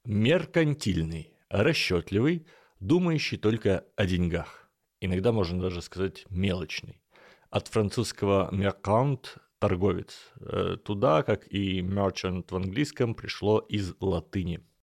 Меркантильный, расчетливый, думающий только о деньгах. Иногда можно даже сказать мелочный. От французского mercant – торговец. Туда, как и merchant в английском, пришло из латыни.